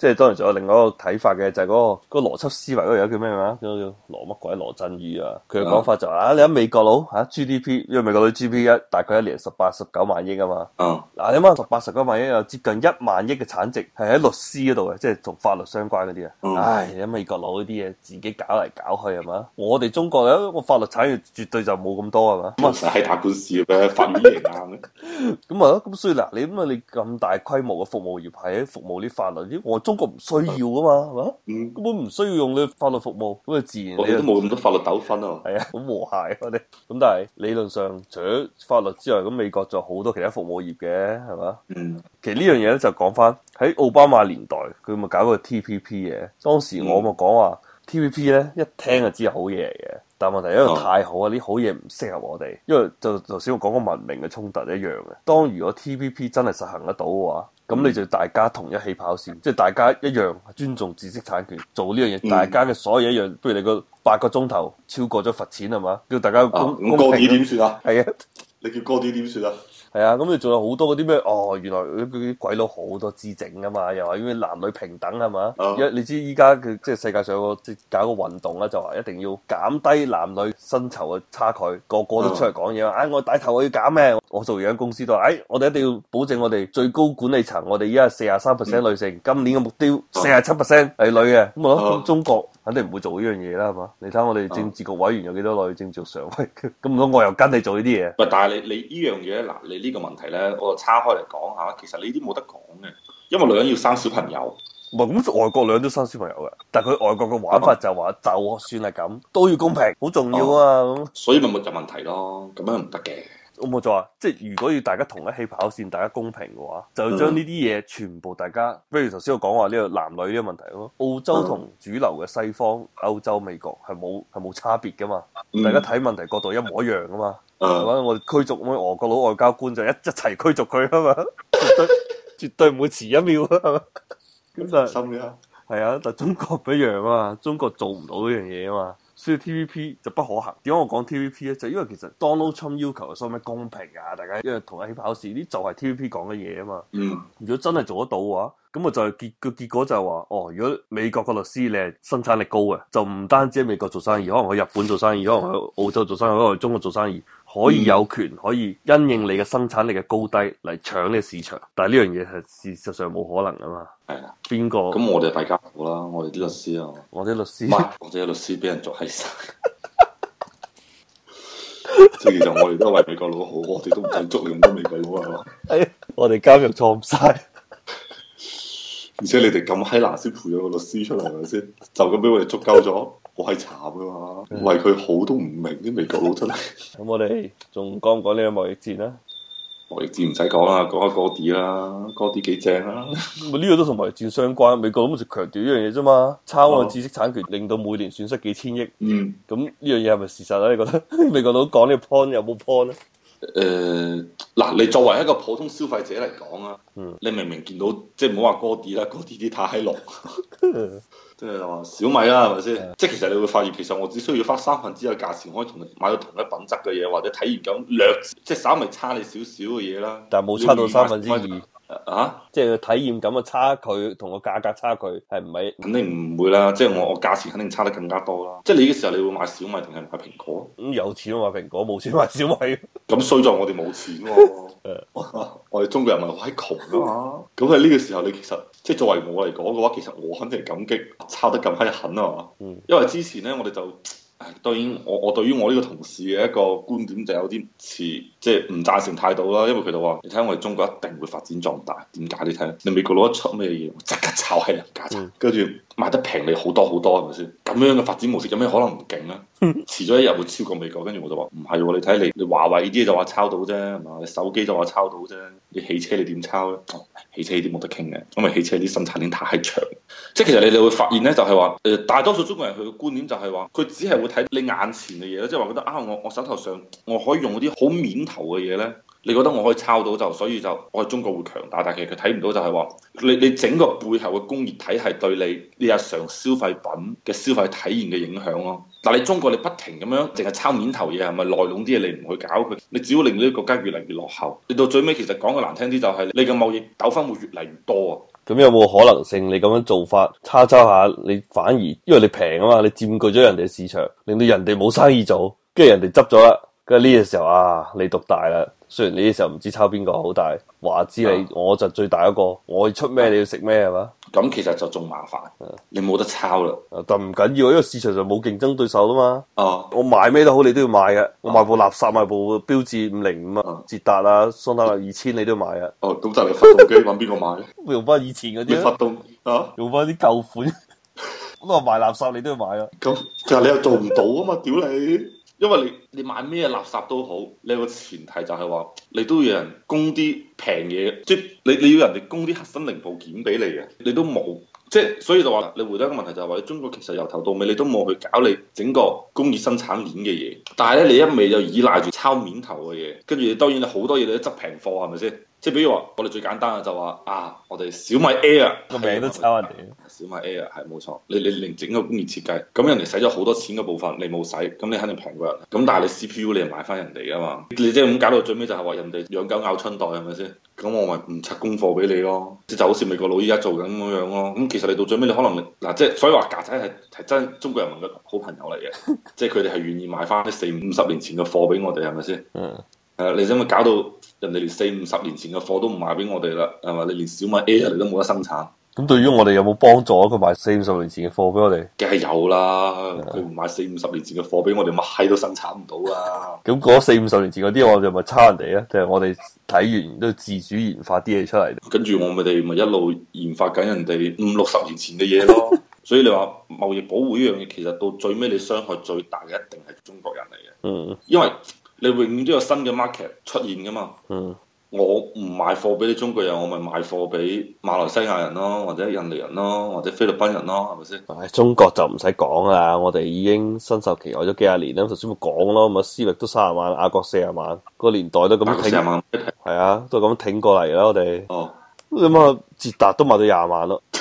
即係當然仲有另外一個睇法嘅，就係嗰個邏輯思維嗰個人叫咩話？叫羅乜鬼羅振宇啊？佢嘅講法就話你喺美國佬GDP， 因為美國佬 GDP 大概一年18-19萬億啊嘛。嗱你諗下18-19萬億有接近1萬億嘅產值係喺律師嗰度嘅，即係同法律相關嗰啲啊。唉，你喺美國佬嗰啲嘢自己搞嚟搞去係嘛？我哋中國咧個法律產業絕對就冇咁多係嘛？ 咁啊成日喺打官司嘅咩？法院贏硬嘅。 咁啊咯，咁所以嗱，你咁大規模嘅服務業係喺服務啲法律，我中國唔需要噶嘛，係嘛？根本唔需要用你法律服務，咁啊自然我哋都冇咁多法律糾紛啊。 係啊，好和諧我哋。咁但係理論上，除咗法律之外，咁美國仲有好多其他服務業嘅，係嘛？其實呢樣嘢咧就講翻喺奧巴馬年代，佢咪搞個 TPP 嘅。當時我咪講話 TPP 咧，一聽就知係好嘢嚟嘅。但問題因為太好啊，啲好嘢唔適合我哋，因為就頭先我講個文明嘅衝突一樣嘅。當如果 TPP 真係實行得到嘅話，咁你就大家同一起跑線，即係大家一樣尊重知識產權，做呢樣嘢，大家嘅所有一樣。不如你個8個鐘頭超過咗罰錢係嘛？叫大家公平。 哥啲點算啊？ 係啊， 你叫哥啲點算啊？ 係啊，咁你仲有好多嗰啲咩？原來嗰啲鬼佬好多資整噶嘛，又話因為男女平等係嘛？你知依家嘅即係世界上即係搞個運動啦，就話一定要減低男女薪酬嘅差距，個個都出嚟講嘢話，我帶頭我要減咩？我做間公司都話，我哋一定要保證我哋最高管理層，我哋依家係43%女性，今年嘅目標47%係女嘅，咁中國肯定唔會做呢樣嘢啦，係嘛？你睇我哋政治局委員有幾多女政治常委，咁唔通我又跟你做呢啲嘢？ 喂，但係你呢樣嘢嗱，你呢個問題咧，我就叉開嚟講下，其實呢啲冇得講嘅，因為女人要生小朋友。 唔係咁，外國女人都生小朋友嘅，但係佢外國嘅玩法就話，就算係咁，都要公平，好重要啊！ 所以咪冇就問題咯，咁樣唔得嘅。 我冇就話，即係如果要大家同一起跑線，大家公平嘅話，就要將呢啲嘢全部大家，不如頭先我講話呢個男女呢個問題咯。澳洲同主流嘅西方、歐洲、美國係冇差別噶嘛，大家睇問題角度一模一樣噶嘛。係嘛？我哋驅逐咁俄國佬外交官就一齊驅逐佢啊嘛，絕對唔會遲一秒啊，係嘛？咁但係心嘅係啊，但係中國唔一樣啊嘛，中國做唔到呢樣嘢啊嘛。所以 TPP 就不可行。點解我講 TPP 咧？就因為其實 Donald Trump 要求所謂咩公平啊，大家因為同一起跑線，呢就係 TPP 講嘅嘢啊嘛。如果真係做得到嘅話，咁啊就係結果就係話，如果美國個律師你係生產力高嘅，就唔單止喺美國做生意，可能去日本做生意，可能去澳洲做生意，可能去中國做生意，可以有權可以因應你嘅生產力嘅高低嚟搶呢個市場。但係呢樣嘢係事實上冇可能啊嘛。 係啊， 邊個？ 咁我哋大家好啦，我哋啲律師啊， 我啲律師， 我哋啲律師俾人捉閪晒。即係其實我哋都係為美國佬好，我哋都唔想捉你咁多美國佬係嘛？ 係我哋監獄錯唔晒。 而且你哋咁閪難先培養個律師出嚟係咪先？就咁俾我哋捉鳩咗，我係慘噶嘛！為佢好都唔明啲美國佬出嚟。 咁我哋仲講唔講呢個貿易戰啊？ 貿易戰唔使講啦，講下哥啲啦，哥啲幾正啦。 呢個都同貿易戰相關，美國咁就強調呢樣嘢啫嘛，抄我知識產權令到每年損失幾千億。咁呢樣嘢係咪事實啊？你覺得美國佬講呢個 point 有冇 point 咧？ 嗱，你作為一個普通消費者嚟講啊，你明明見到即係唔好話哥啲啦，哥啲太閪濃，即係話小米啦，係咪先？即係其實你會發現，其實我只需要花1/3嘅價錢，可以同你買到同一品質嘅嘢，或者體驗感略即係稍微差你少少嘅嘢啦。 但係冇差到2/3。 啊！ 即係個體驗感嘅差距同個價格差距係唔係？ 肯定唔會啦，即係我價錢肯定差得更加多啦。即係你嘅時候，你會買小米定係買蘋果？ 咁有錢買蘋果，冇錢買小米。 咁衰在我哋冇錢喎。我哋中國人咪好閪窮啊嘛。咁喺呢個時候，你其實即係作為我嚟講嘅話，其實我肯定係感激抄得咁閪狠啊嘛。因為之前咧，我哋就。當然，我對於我呢個同事嘅一個觀點就有啲似，即係唔贊成態度啦。因為佢就話：你睇我哋中國一定會發展壯大。點解？你睇，你美國佬一出咩嘢，即刻炒喺人價錢，跟住賣得平你好多好多，係咪先？咁樣嘅發展模式有咩可能唔勁啊？遲咗一日會超過美國。跟住我就話：唔係喎，你睇你華為呢啲就話抄到啫，係嘛？你手機就話抄到啫，你汽車你點抄咧？汽車呢啲冇得傾嘅，因為汽車啲生產鏈太長。即係其實你哋會發現咧，就係話大多數中國人佢嘅觀點就係話，佢只係會睇你眼前嘅嘢咧，即係話覺得我手頭上我可以用嗰啲好面頭嘅嘢咧，你覺得我可以抄到就，所以就我喺中國會強大。但係其實佢睇唔到就係話，你整個背後嘅工業體系對你日常消費品嘅消費體驗嘅影響咯。但係你中國你不停咁樣淨係抄面頭嘢，係咪內籠啲嘢你唔去搞佢？你只會令到呢個國家越嚟越落後。你到最尾其實講嘅難聽啲就係你嘅貿易糾紛會越嚟越多啊！ 咁有冇可能性你咁樣做法抄下，你反而因為你平啊嘛，你佔據咗人哋市場，令到人哋冇生意做，跟住人哋執咗啦，跟住呢個時候啊，你獨大啦。雖然呢啲時候唔知抄邊個好，但係話知你，我就最大一個，我要出咩你要食咩係嘛？ 咁其實就仲麻煩，你冇得抄啦。 但唔緊要，因為市場上冇競爭對手啦嘛。 哦， 我賣咩都好，你都要買嘅。我賣部垃圾，賣部標致505啊，捷達啊，桑塔納2000，你都要買啊。 哦，咁就係發動機揾邊個買咧？ 用翻以前嗰啲發動啊， 用翻啲舊款。咁我賣垃圾，你都要買啊。 咁其實你又做唔到啊嘛，屌你！因為你買咩垃圾都好，你有個前提就係話，你都要有人供啲平嘢，即係你要人哋供啲核心零部件俾你嘅，你都冇，即係所以就話你回答一個問題就係話，中國其實由頭到尾你都冇去搞你整個工業生產鏈嘅嘢，但係咧你一味就依賴住抄面頭嘅嘢，跟住當然你好多嘢你都執平貨係咪先？即係比如話，我哋最簡單嘅就話啊，我哋小米 Air 個名都抄人哋。 小米 Air 係冇錯，你連整個工業設計，咁人哋使咗好多錢嘅部分，你冇使，咁你肯定平過人。咁但係你 CPU 你又買翻人哋噶嘛？你即係咁搞到最尾就係話人哋養狗咬春袋係咪先？咁我咪唔拆功課俾你咯，即就好似美國佬依家做緊咁樣咯。咁其實你到最尾你可能嗱，即係所以話曱甴係真中國人民嘅好朋友嚟嘅，即係佢哋係願意買翻啲40-50年前嘅貨俾我哋係咪先？你知唔知搞到人哋連40-50年前嘅貨都唔賣俾我哋啦？係嘛？你連小米 Air 你都冇得生產。 咁對於我哋有冇幫助？佢賣40-50年前嘅貨俾我哋， 梗係有啦。佢唔買40-50年前嘅貨俾我哋，乜閪都生產唔到啊！ 咁嗰40-50年前嗰啲，我哋咪抄人哋啊？定係我哋睇完都要自主研發啲嘢出嚟？ 跟住我哋咪一路研發緊人哋50-60年前嘅嘢咯。所以你話貿易保護呢樣嘢，其實到最尾你傷害最大嘅一定係中國人嚟嘅。因為你永遠都有新嘅 market 出現噶嘛。我唔賣貨俾你中國人，我咪賣貨俾馬來西亞人咯，或者印尼人咯，或者菲律賓人咯，係咪先？ 中國就唔使講啦，我哋已經身受其害咗幾廿年啦。頭先咪講咯，咁啊思域都30萬，雅閣40萬，個年代都咁挺，40萬，係啊，都咁挺過嚟啦，我哋。咁啊，捷達都賣到20萬咯。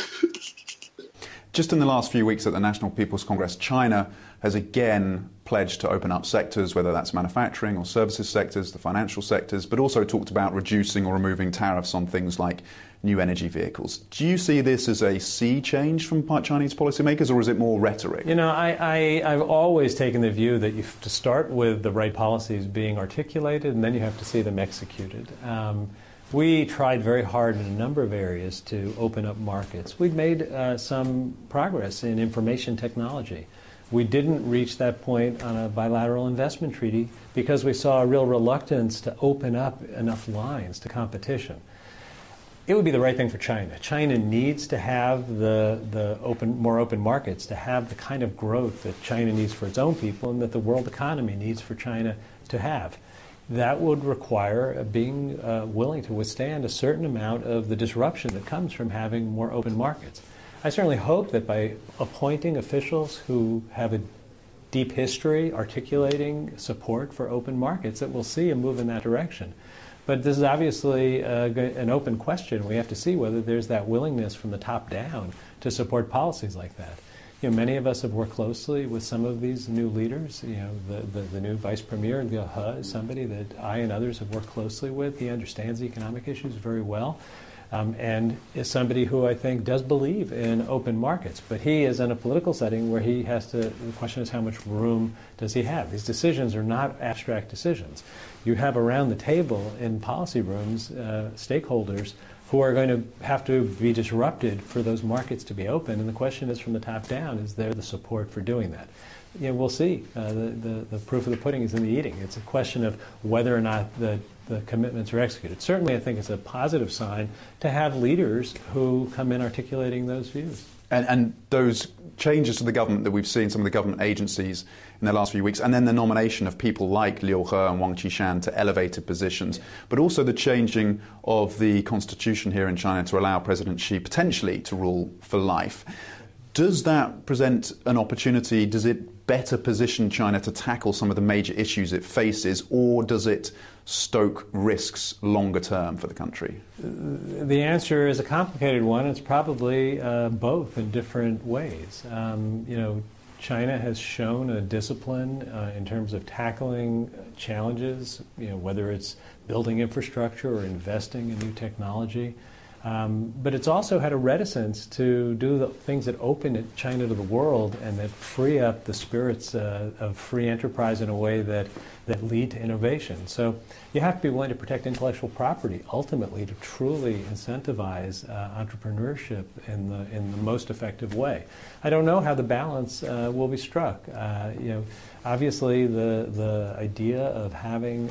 Just in the last few weeks at the National People's Congress, China has again pledged to open up sectors, whether that's manufacturing or services sectors, the financial sectors, but also talked about reducing or removing tariffs on things like new energy vehicles. Do you see this as a sea change from Chinese policymakers, or is it more rhetoric? You know, I've always taken the view that you have to start with the right policies being articulated, and then you have to see them executed. We tried very hard in a number of areas to open up markets. We've made some progress in information technology. We didn't reach that point on a bilateral investment treaty because we saw a real reluctance to open up enough lines to competition. It would be the right thing for China. China needs to have more open markets to have the kind of growth that China needs for its own people and that the world economy needs for China to have. That would require being willing to withstand a certain amount of the disruption that comes from having more open markets. I certainly hope that by appointing officials who have a deep history articulating support for open markets, that we'll see a move in that direction. But this is obviously an open question. We have to see whether there's that willingness from the top down to support policies like that. You know, many of us have worked closely with some of these new leaders. You know, the new vice premier, Liu He, is somebody that I and others have worked closely with. He understands the economic issues very well. And is somebody who I think does believe in open markets. But he is in a political setting where he has to, the question is how much room does he have? These decisions are not abstract decisions. You have around the table in policy rooms stakeholders who are going to have to be disrupted for those markets to be open. And the question is from the top down, is there the support for doing that? You know, we'll see. The proof of the pudding is in the eating. It's a question of whether or not the commitments are executed. Certainly, I think it's a positive sign to have leaders who come in articulating those views. And those changes to the government that we've seen, some of the government agencies in the last few weeks, and then the nomination of people like Liu He and Wang Qishan to elevated positions, but also the changing of the constitution here in China to allow President Xi potentially to rule for life. Does that present an opportunity? Does it better position China to tackle some of the major issues it faces, or does it stoke risks longer term for the country? The answer is a complicated one. It's probably both in different ways. You know, China has shown a discipline in terms of tackling challenges, you know, whether it's building infrastructure or investing in new technology. But it's also had a reticence to do the things that open China to the world and that free up the spirits of free enterprise in a way that lead to innovation. So you have to be willing to protect intellectual property ultimately to truly incentivize entrepreneurship in the most effective way. I don't know how the balance will be struck. Obviously the idea of having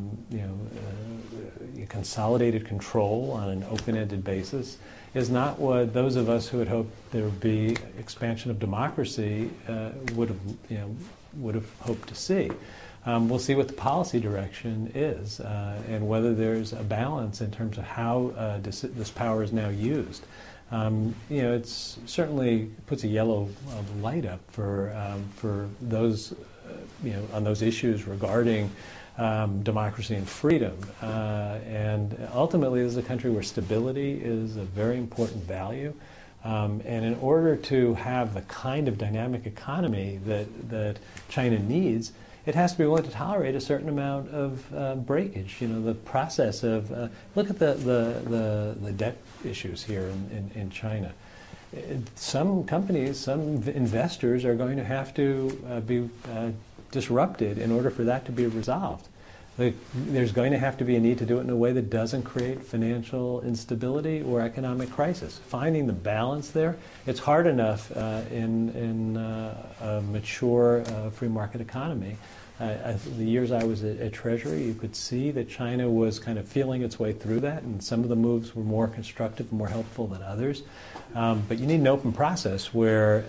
consolidated control on an open-ended basis is not what those of us who had hoped there would be expansion of democracy would have hoped to see. We'll see what the policy direction is and whether there's a balance in terms of how this power is now used. It's certainly puts a yellow light up for those on those issues regarding democracy and freedom. And ultimately, this is a country where stability is a very important value. And in order to have the kind of dynamic economy that China needs, it has to be willing to tolerate a certain amount of breakage. The process of look at the debt issues here in China. Some companies, some investors are going to have to be disrupted in order for that to be resolved. There's going to have to be a need to do it in a way that doesn't create financial instability or economic crisis. Finding the balance there, it's hard enough in a mature free market economy. The years I was at Treasury, you could see that China was kind of feeling its way through that, and some of the moves were more constructive and more helpful than others. But you need an open process where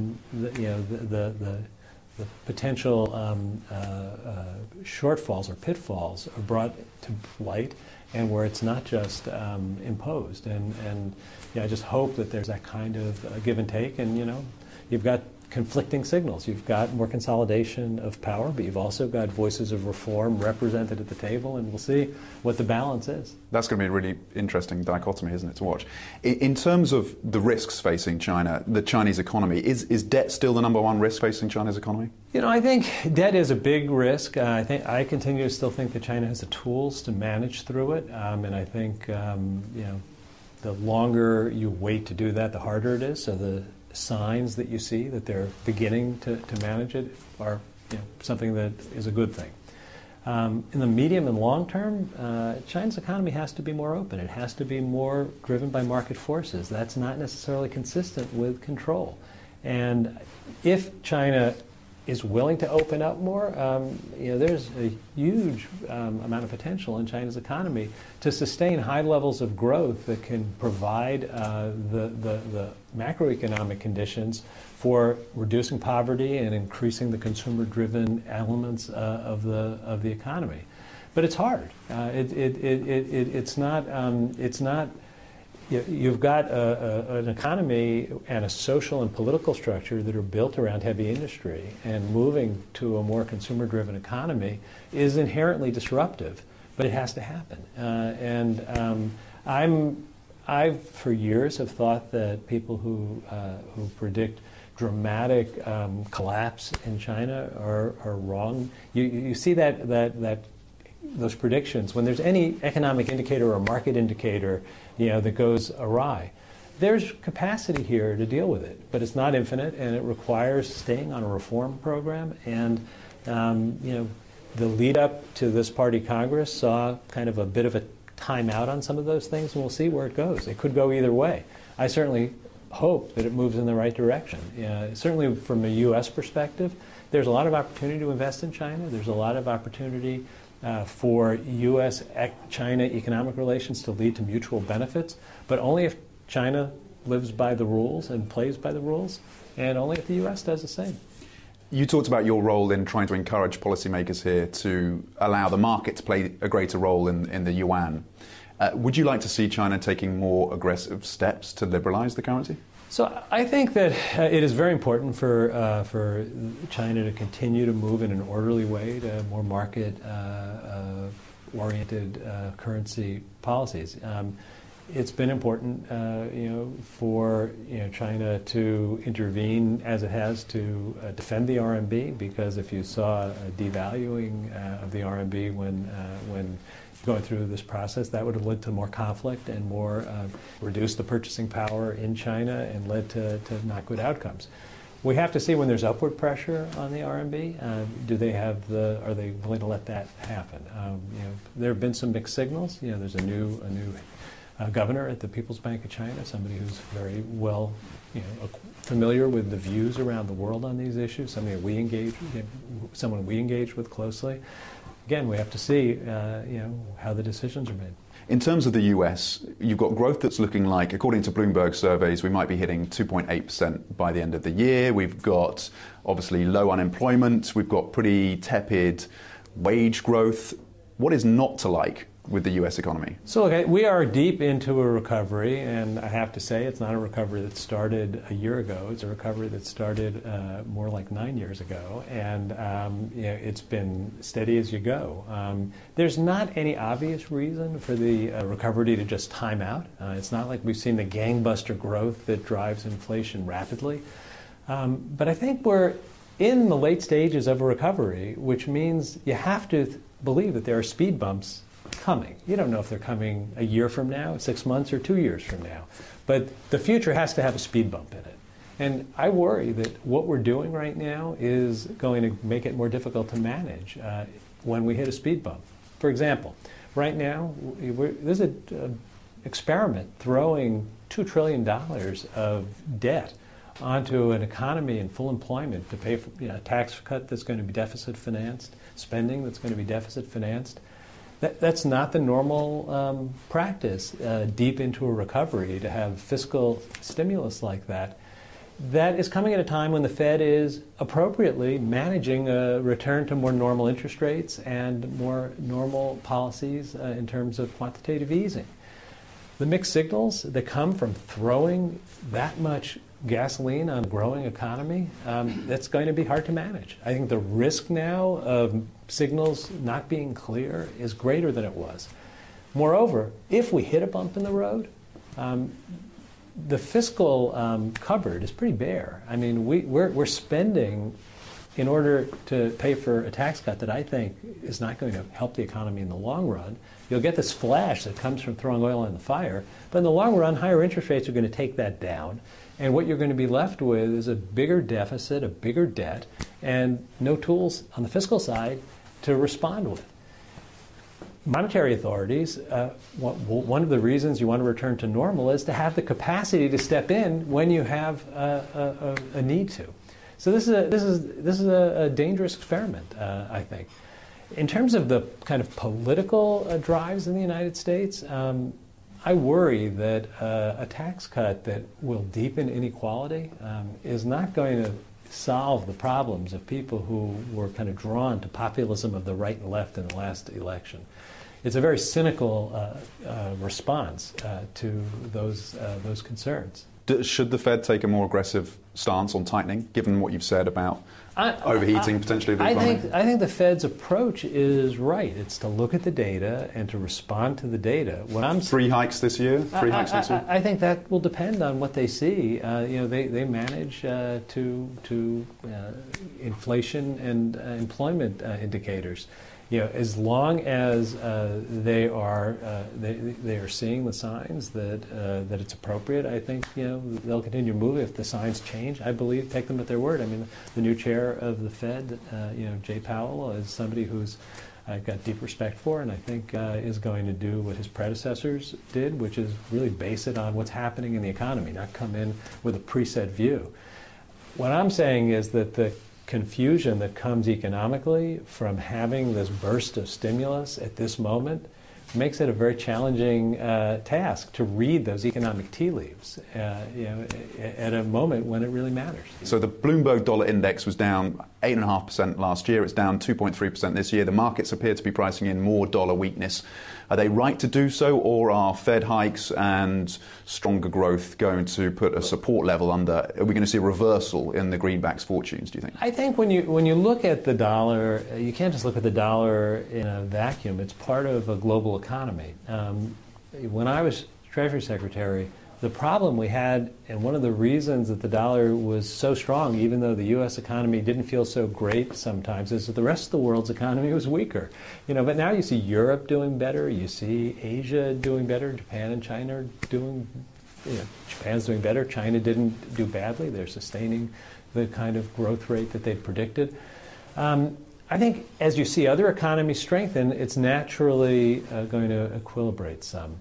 the potential shortfalls or pitfalls are brought to light, and where it's not just imposed. And I just hope that there's that kind of give and take. And you've got conflicting signals. You've got more consolidation of power, but you've also got voices of reform represented at the table, and we'll see what the balance is. That's going to be a really interesting dichotomy, isn't it, to watch? In terms of the risks facing China, the Chinese economy, is debt still the number one risk facing China's economy? I think debt is a big risk. I continue to still think that China has the tools to manage through it, and I think the longer you wait to do that, the harder it is. So the signs that you see that they're beginning to manage it are something that is a good thing. In the medium and long term, China's economy has to be more open. It has to be more driven by market forces. That's not necessarily consistent with control. And if China is willing to open up more, there's a huge amount of potential in China's economy to sustain high levels of growth that can provide the macroeconomic conditions for reducing poverty and increasing the consumer-driven elements of the economy. But it's hard. It's not. You've got an economy and a social and political structure that are built around heavy industry, and moving to a more consumer-driven economy is inherently disruptive, but it has to happen. I for years have thought that people who predict dramatic collapse in China are wrong. You see that those predictions when there's any economic indicator or market indicator that goes awry. There's capacity here to deal with it, but it's not infinite, and it requires staying on a reform program. And the lead up to this party Congress saw kind of a bit of a timeout on some of those things, and we'll see where it goes. It could go either way. I certainly hope that it moves in the right direction. Certainly from a U.S. perspective, there's a lot of opportunity to invest in China. There's a lot of opportunity for U.S.-China economic relations to lead to mutual benefits, but only if China lives by the rules and plays by the rules, and only if the U.S. does the same. You talked about your role in trying to encourage policymakers here to allow the market to play a greater role in the yuan. Would you like to see China taking more aggressive steps to liberalize the currency? So I think that it is very important for China to continue to move in an orderly way to more market-oriented currency policies. It's been important, for China to intervene as it has to defend the RMB, because if you saw a devaluing of the RMB when going through this process. That would have led to more conflict and more reduced the purchasing power in China and led to not good outcomes. We have to see when there's upward pressure on the RMB. Are they willing to let that happen? There have been some mixed signals. There's a new governor at the People's Bank of China, somebody who's very well, familiar with the views around the world on these issues. Someone we engage with closely. Again, we have to see, how the decisions are made. In terms of the US, you've got growth that's looking like, according to Bloomberg surveys, we might be hitting 2.8% by the end of the year. We've got, obviously, low unemployment. We've got pretty tepid wage growth. What is not to like with the US economy? So we are deep into a recovery, and I have to say it's not a recovery that started a year ago. It's a recovery that started more like 9 years ago, and it's been steady as you go. There's not any obvious reason for the recovery to just time out. It's not like we've seen the gangbuster growth that drives inflation rapidly. But I think we're in the late stages of a recovery, which means you have to believe that there are speed bumps coming. You don't know if they're coming a year from now, 6 months, or 2 years from now. But the future has to have a speed bump in it. And I worry that what we're doing right now is going to make it more difficult to manage when we hit a speed bump. For example, right now, there's an experiment throwing $2 trillion of debt onto an economy in full employment to pay for a tax cut that's going to be deficit financed, spending that's going to be deficit financed. That's not the normal practice deep into a recovery to have fiscal stimulus like that. That is coming at a time when the Fed is appropriately managing a return to more normal interest rates and more normal policies in terms of quantitative easing. The mixed signals that come from throwing that much gasoline on a growing economy, that's going to be hard to manage. I think the risk now of signals not being clear is greater than it was. Moreover, if we hit a bump in the road, the fiscal cupboard is pretty bare. I mean, we're spending in order to pay for a tax cut that I think is not going to help the economy in the long run. You'll get this flash that comes from throwing oil on the fire, but in the long run, higher interest rates are going to take that down. And what you're going to be left with is a bigger deficit, a bigger debt, and no tools on the fiscal side to respond with. Monetary authorities, one of the reasons you want to return to normal is to have the capacity to step in when you have a need to. So this is a dangerous experiment, I think. In terms of the kind of political drives in the United States, I worry that a tax cut that will deepen inequality is not going to solve the problems of people who were kind of drawn to populism of the right and left in the last election. It's a very cynical response to those concerns. Should the Fed take a more aggressive stance on tightening, given what you've said about overheating potentially the economy? I think the Fed's approach is right. It's to look at the data and to respond to the data. 3 hikes this year? 3 hikes next year? I think that will depend on what they see. They manage to inflation and employment indicators. As long as they are seeing the signs that it's appropriate, I think they'll continue to move. If the signs change, I believe, take them at their word. I mean, the new chair of the Fed, Jay Powell, is somebody who's I've got deep respect for, and I think is going to do what his predecessors did, which is really base it on what's happening in the economy, not come in with a preset view. What I'm saying is that the confusion that comes economically from having this burst of stimulus at this moment makes it a very challenging task to read those economic tea leaves at a moment when it really matters. So the Bloomberg Dollar Index was down 8.5% last year. It's down 2.3% this year. The markets appear to be pricing in more dollar weakness. Are they right to do so, or are Fed hikes and stronger growth going to put a support level under? Are we going to see a reversal in the greenback's fortunes, do you think? I think when you look at the dollar, you can't just look at the dollar in a vacuum. It's part of a global economy. When I was Treasury Secretary, The problem we had, and one of the reasons that the dollar was so strong, even though the U.S. economy didn't feel so great sometimes, is that the rest of the world's economy was weaker. But now you see Europe doing better, you see Asia doing better, Japan and China are doing, Japan's doing better, China didn't do badly, they're sustaining the kind of growth rate that they'd predicted. I think as you see other economies strengthen, it's naturally going to equilibrate some.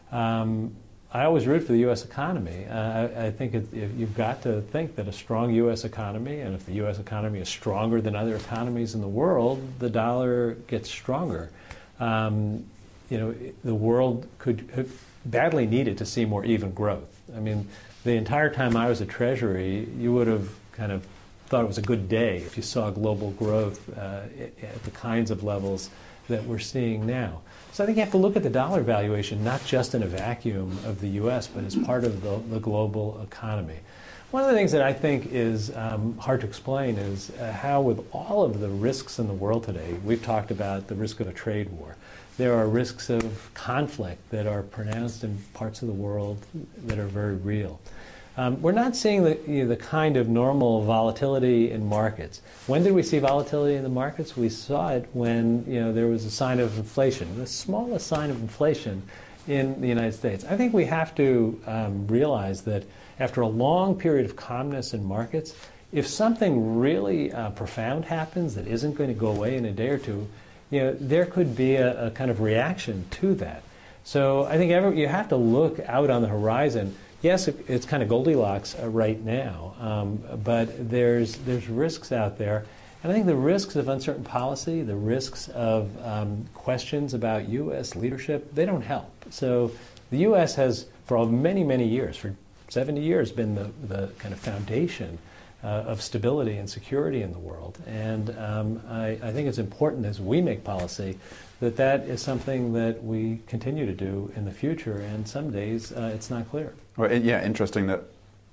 I always root for the U.S. economy. I think you've got to think that a strong U.S. economy, and if the U.S. economy is stronger than other economies in the world, the dollar gets stronger. The world could badly needed to see more even growth. I mean, the entire time I was at Treasury, you would have kind of thought it was a good day if you saw global growth at the kinds of levels that we're seeing now. So I think you have to look at the dollar valuation not just in a vacuum of the U.S., but as part of the global economy. One of the things that I think is hard to explain is how, with all of the risks in the world today, we've talked about the risk of a trade war. There are risks of conflict that are pronounced in parts of the world that are very real. We're not seeing the kind of normal volatility in markets. When did we see volatility in the markets? We saw it when there was a sign of inflation, the smallest sign of inflation in the United States. I think we have to realize that after a long period of calmness in markets, if something really profound happens that isn't going to go away in a day or two, there could be a kind of reaction to that. So I think you have to look out on the horizon. Yes, it's kind of Goldilocks right now, but there's risks out there. And I think the risks of uncertain policy, the risks of questions about U.S. leadership, they don't help. So the U.S. has, for many, many years, for 70 years, been the kind of foundation of stability and security in the world. And I think it's important as we make policy that is something that we continue to do in the future. And some days it's not clear. Well, yeah, interesting that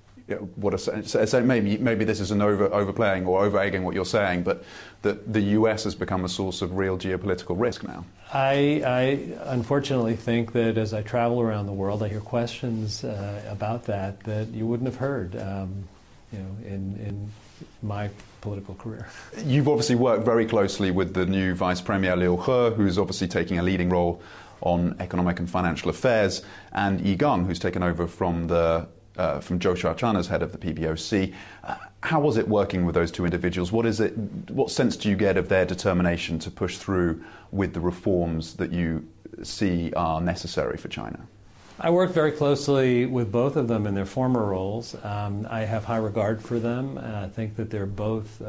maybe this is an overplaying or over-egging what you're saying, but that the U.S. has become a source of real geopolitical risk now. I unfortunately think that as I travel around the world, I hear questions about that you wouldn't have heard, in my political career. You've obviously worked very closely with the new Vice Premier Liu He, who's obviously taking a leading role on economic and financial affairs, and Yi Gang, who's taken over from Zhou Xiaochuan as head of the PBOC. How was it working with those two individuals? What sense do you get of their determination to push through with the reforms that you see are necessary for China? I worked very closely with both of them in their former roles. I have high regard for them. I think that they're both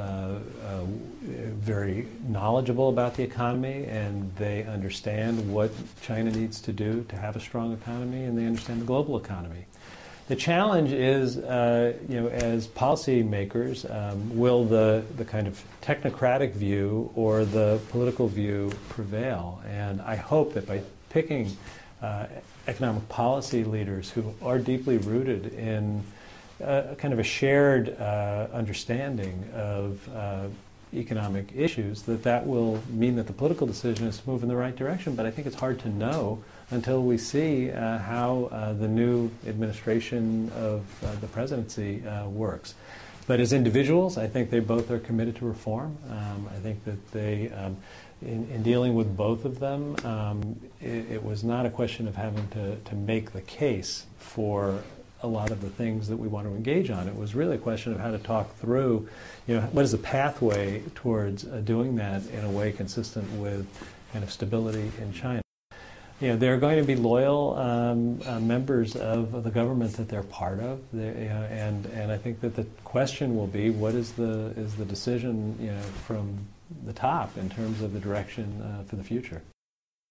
very knowledgeable about the economy, and they understand what China needs to do to have a strong economy, and they understand the global economy. The challenge is, as policymakers, will the kind of technocratic view or the political view prevail? And I hope that by picking economic policy leaders who are deeply rooted in kind of a shared understanding of economic issues, that will mean that the political decision is to move in the right direction. But I think it's hard to know until we see how the new administration of the presidency works. But as individuals, I think they both are committed to reform. I think that they, in dealing with both of them, it was not a question of having to make the case for a lot of the things that we want to engage on. It was really a question of how to talk through, what is the pathway towards doing that in a way consistent with kind of stability in China. They're going to be loyal members of the government that they're part of, and I think that the question will be, what is the decision from the top in terms of the direction for the future.